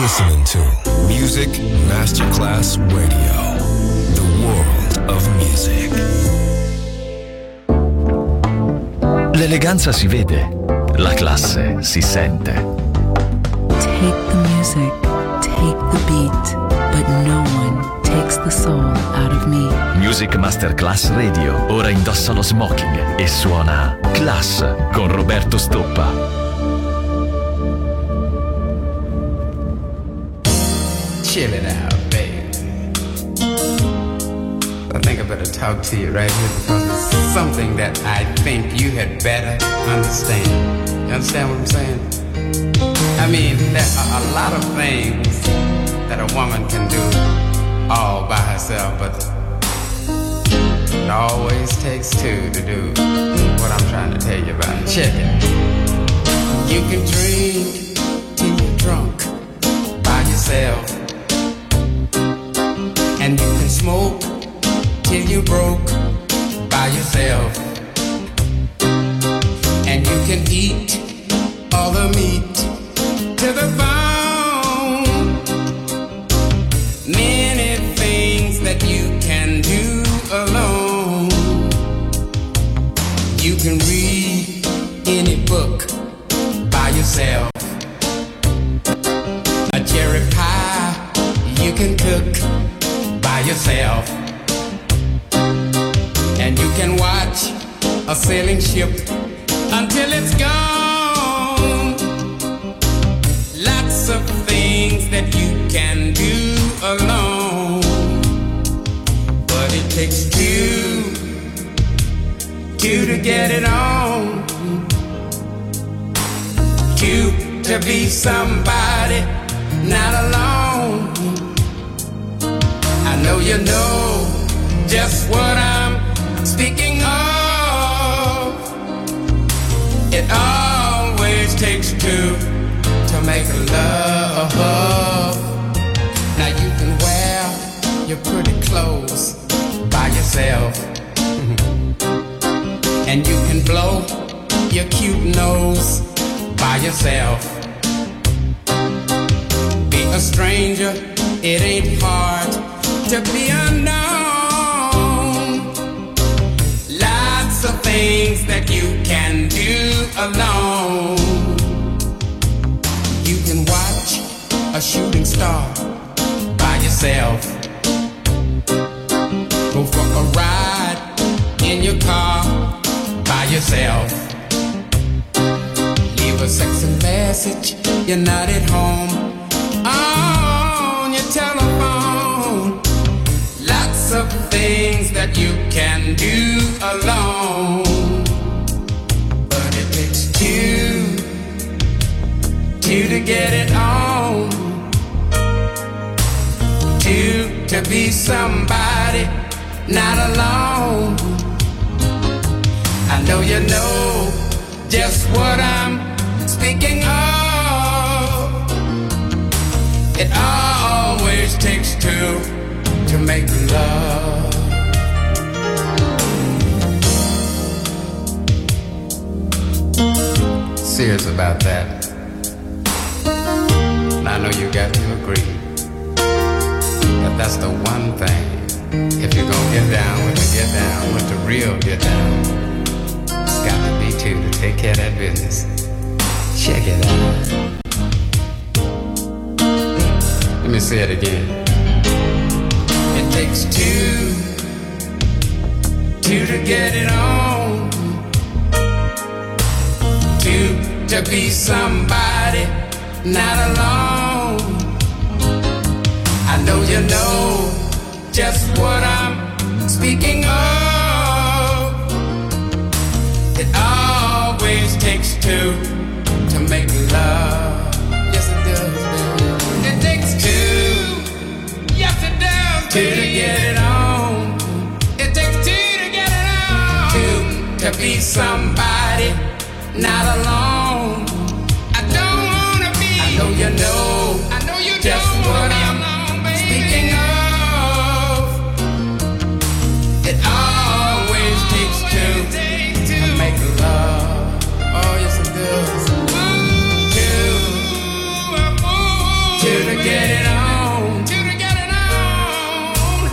listening to Music Masterclass Radio, the world of music. L'eleganza si vede, la classe si sente. Take the music, take the beat, but no one takes the soul out of me. Music Masterclass Radio ora indossa lo smoking e suona Class con Roberto Stoppa. Chill it out, babe. I think I better talk to you right here because it's something that I think you had better understand. You understand what I'm saying? I mean, there are a lot of things that a woman can do all by herself, but it always takes two to do what I'm trying to tell you about. Check it. You can drink till you're drunk by yourself. And you can smoke till you're broke by yourself. And you can eat all the meat to the bone. Many things that you can do alone. You can read any book by yourself. A cherry pie you can cook by yourself. And you can watch a sailing ship until it's gone. Lots of things that you can do alone. But it takes two to get it on. Two to be somebody, not alone. I know you know just what I'm speaking of. It always takes two to make love. Now you can wear your pretty clothes by yourself. And you can blow your cute nose by yourself. Be a stranger, it ain't hard to be unknown. Lots of things that you can do alone. You can watch a shooting star by yourself. Go for a ride in your car by yourself. Leave a sexy message, you're not at home, on your telephone. Lots of things that you can do alone. But it takes two to get it on. Two to be somebody, not alone. I know you know just what I'm speaking of. It always takes two to make love. Serious about that. And I know you got to agree that that's the one thing. If you're gonna get down with the real get down, it's got to be two to take care of that business. Check it out. Let me say it again. It takes two to get it on. Two to be somebody, not alone. I know you know just what I'm speaking of. It always takes two to make love. Yes, it does, baby. It takes two. Yes, it does, baby. Two to get it on. It takes two to get it on. Two to be somebody, not alone. I don't wanna be. I know you know. I know you just what I'm speaking of. It always takes two to make love. Oh yes, it does. Two to get it on, to get it on,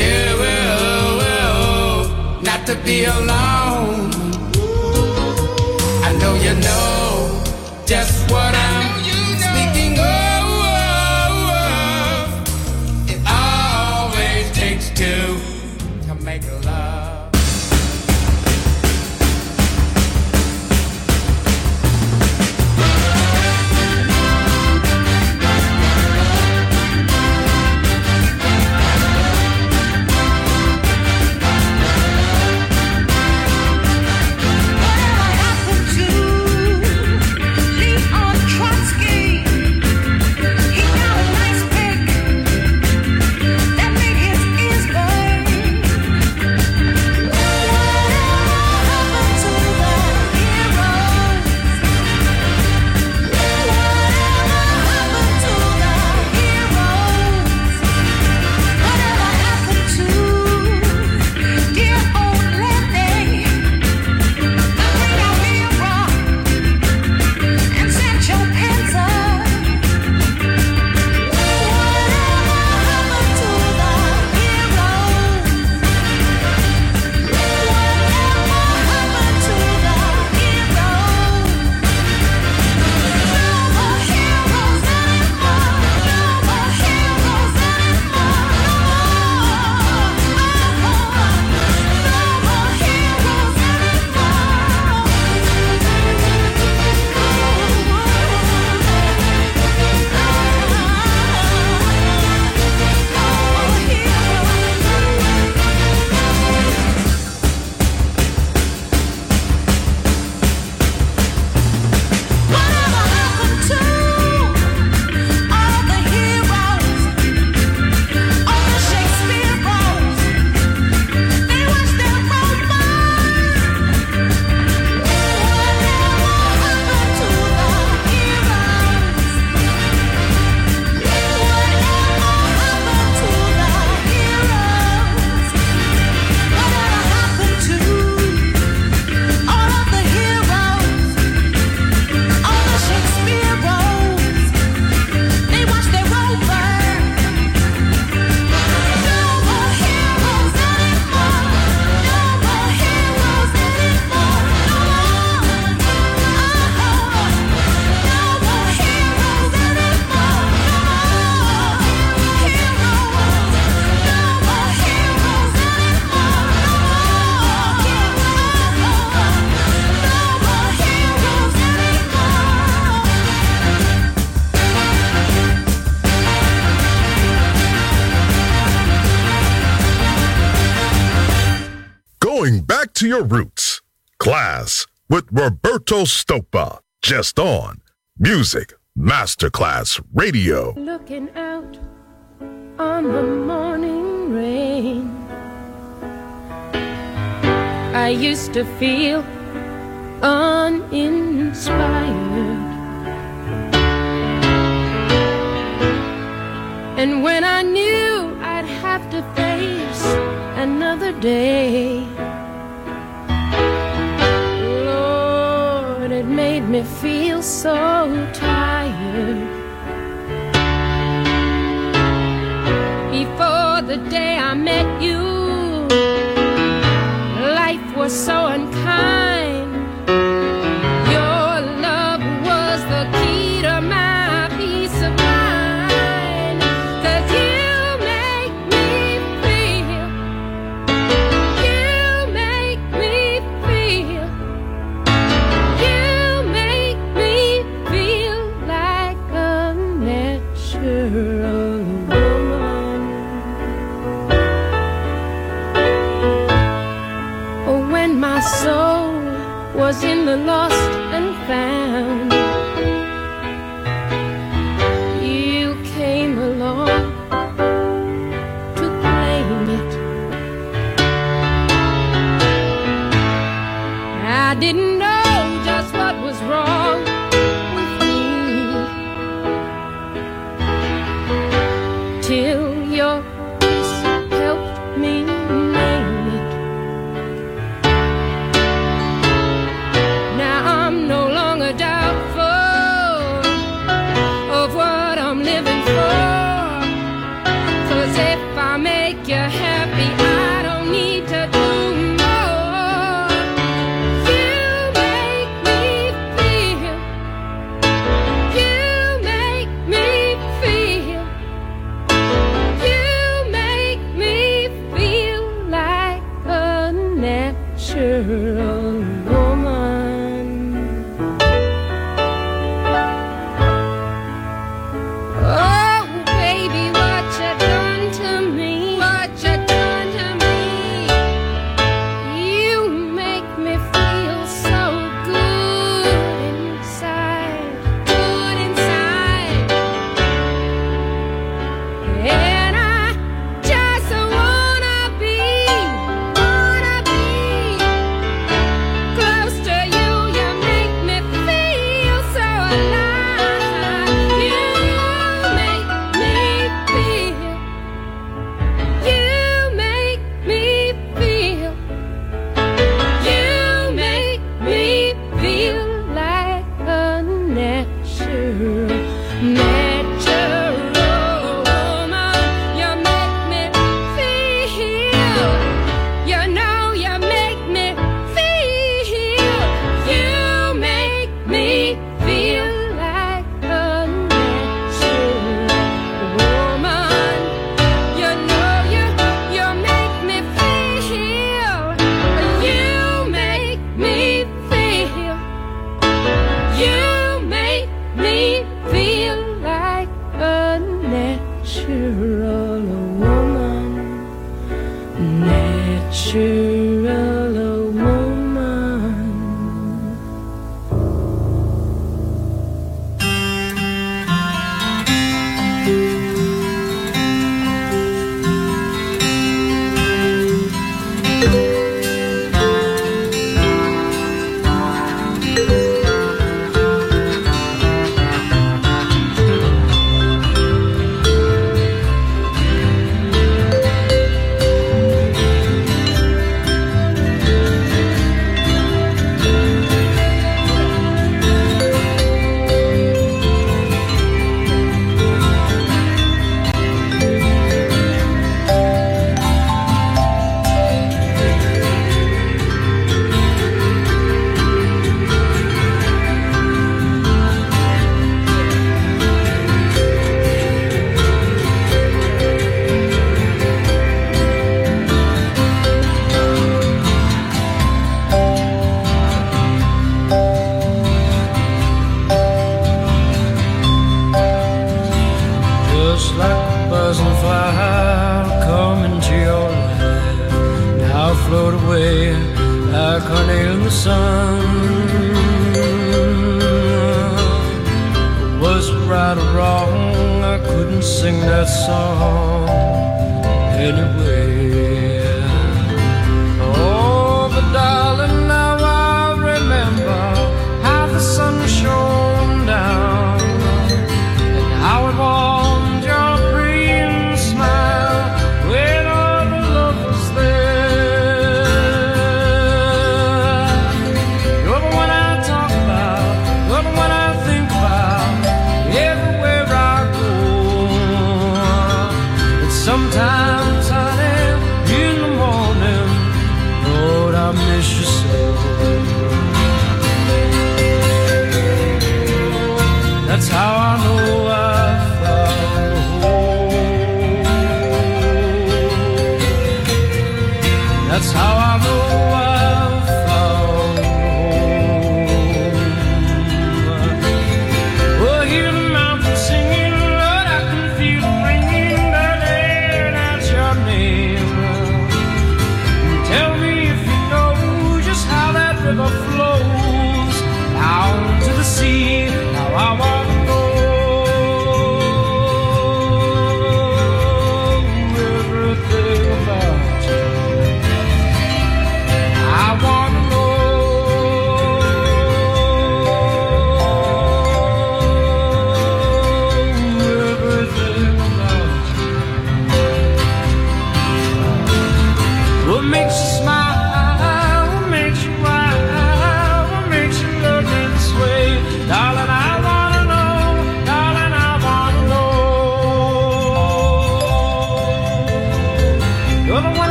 to not to be alone. I know you know just what I'm speaking of. It always takes two to make love. To your roots. Class with Roberto Stoppa. Just on Music Masterclass Radio. Looking out on the morning rain, I used to feel uninspired, and when I knew I'd have to face another day, Lord, it made me feel so tired. Before the day I met you, life was so unkind. Your love was the key to my peace of mind. 'Cause you make me feel, you make me feel, you make me feel like a natural woman. Oh, when my soul was in the lost and found, you came along to claim it. I didn't know just what was wrong with me till your kiss helped me name it. Now I'm no longer doubtful of what I'm living for.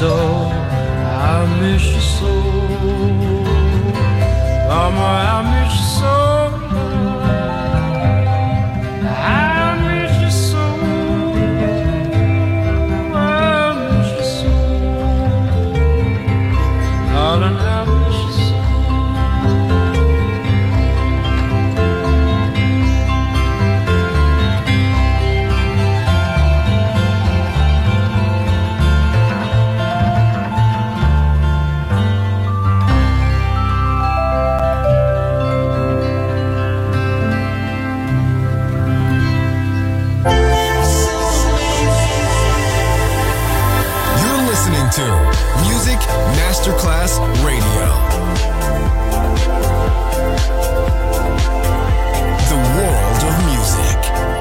so, I miss you so. Mama, I miss you so. I miss you so. I miss you so. Darling, I miss you so. To Music Masterclass Radio. The world of music.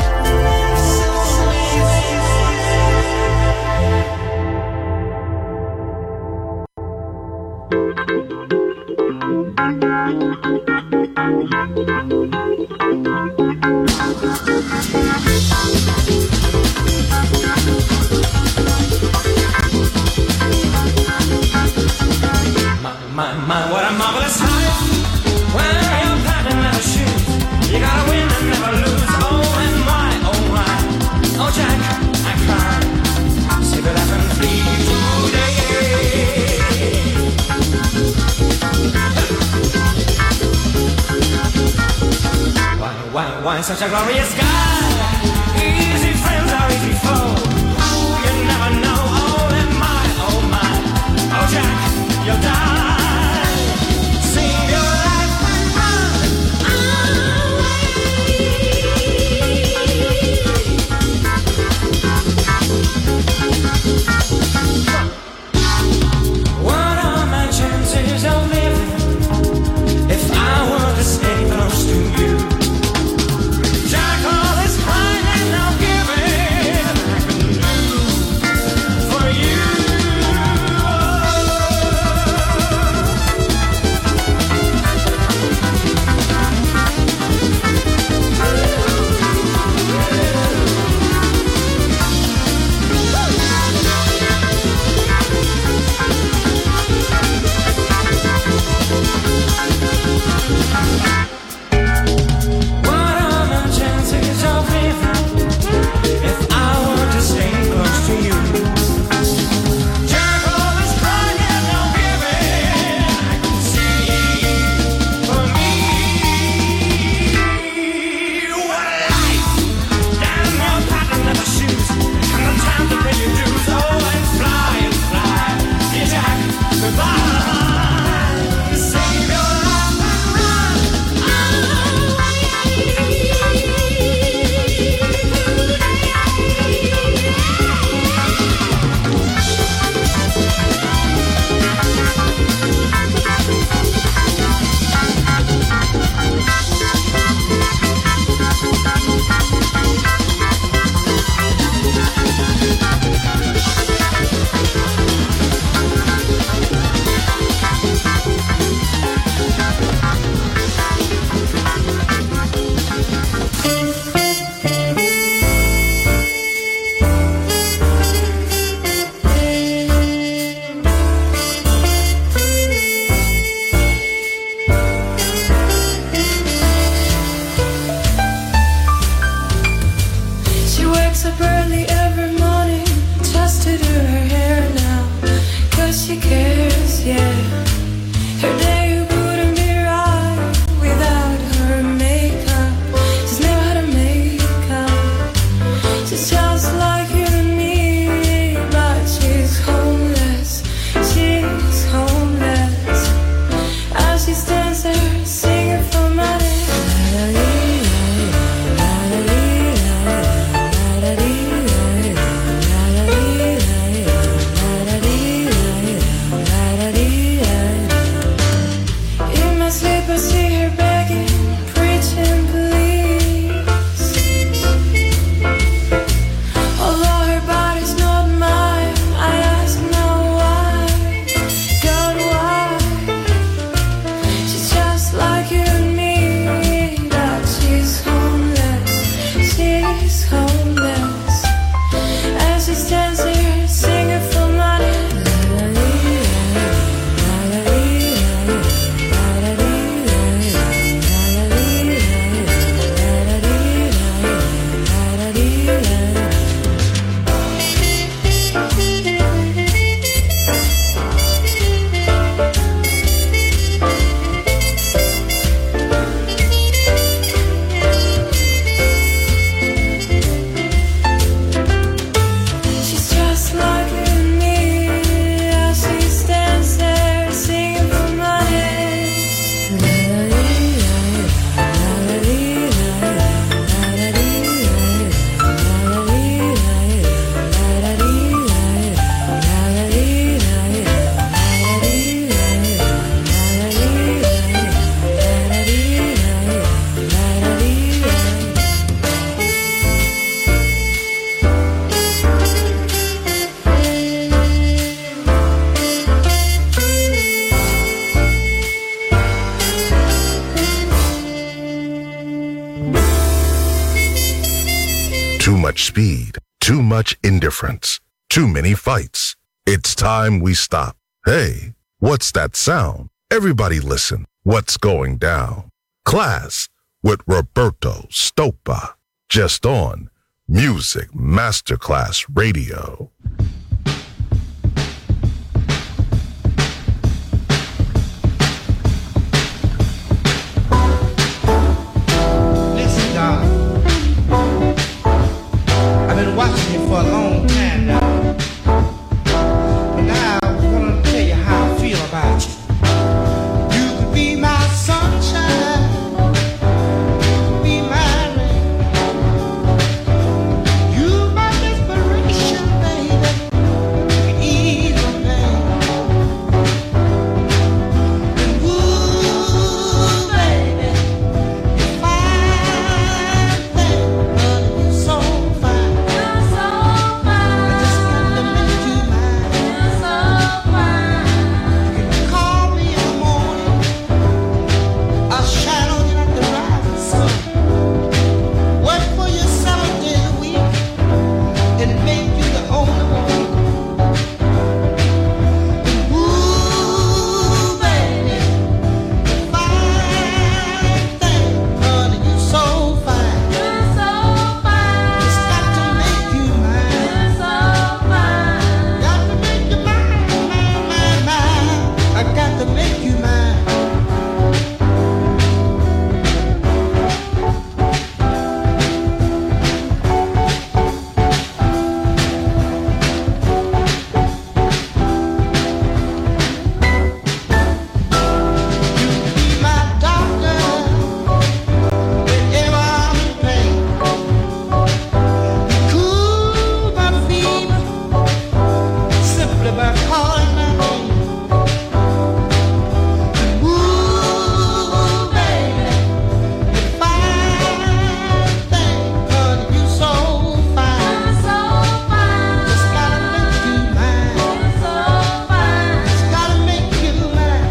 What a marvelous life. When you're padding leather shoes, you gotta win and never lose. Oh, and why, oh, why? Oh, Jack, I cried. Save your life and flee today. Why such a glorious sky? Easy friends are easy foes. You never know. Oh, and my, oh, my. Oh, Jack, you'll die. Yeah. much speed, too much indifference, too many fights. It's time we stop. Hey, what's that sound? Everybody listen. What's going down? Class with Roberto Stoppa. Just on Music Masterclass Radio. Listen, God. I've been watching you for a long time now. But now I want to tell you how I feel about you. You could be my sunshine. You could be my rain. You my desperation, baby. You can ease my pain. And ooh, baby, you're fine, baby. You're so fine. You're so fine. I just got to make you mine. You're so fine. You can call me in the morning. I'll shine on you like the rising sun. Work for you 7 days a week and make you the only one. And ooh, baby, you're fine, thing, honey, you're so fine. You're so fine. Just got to make you mine. You're so fine. Got to make you mine, mine, mine. I got to make you mine. Be my doctor whenever I'm in pain. You cool my fever simply by calling my name. And ooh, baby, you're fine, thing, honey, you so fine. You're so fine. Just gotta make you mine. You're so fine. Just gotta make you mine.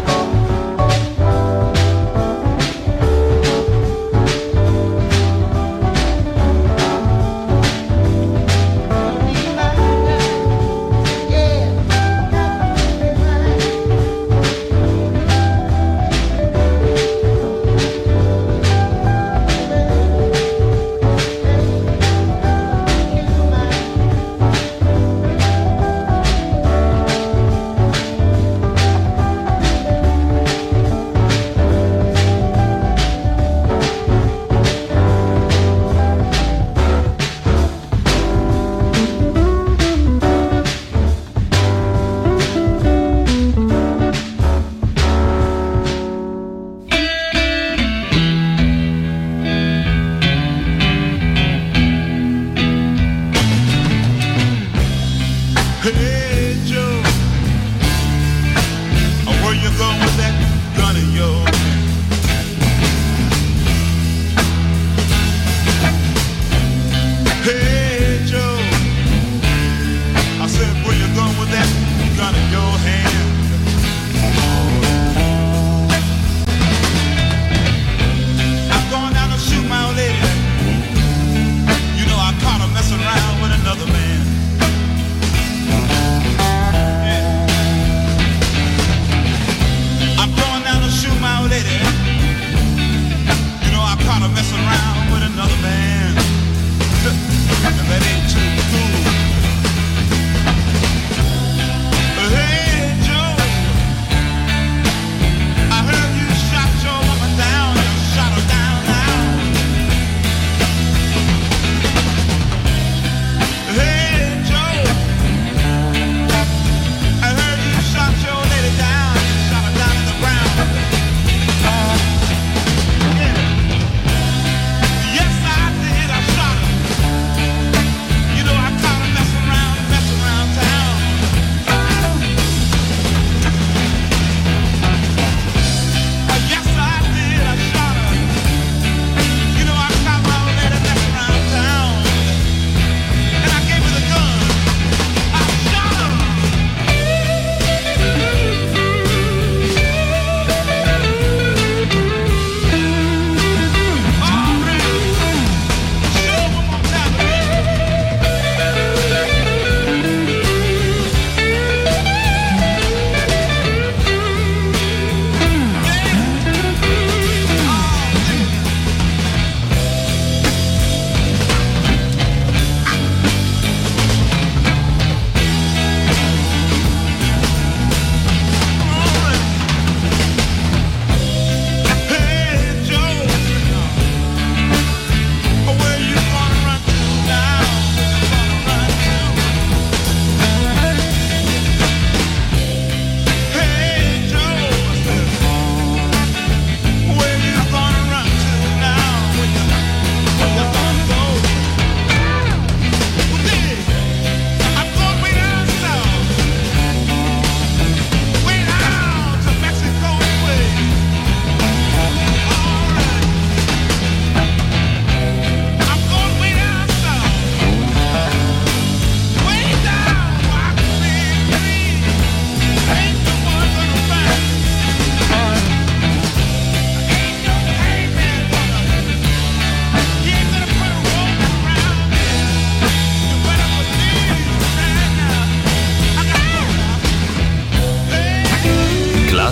Be my girl, yeah. Gotta be mine. Hey Joe, where you going with that gun of yours? Hey Joe, I said where you going with that gun in your hand? I'm going down to shoot my old lady. You know I caught her messing around with another man. I'm going down to shoot my old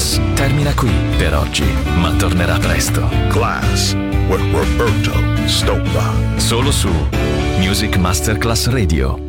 Class termina qui per oggi, ma tornerà presto. Class with Roberto Stoppa. Solo su Music Masterclass Radio.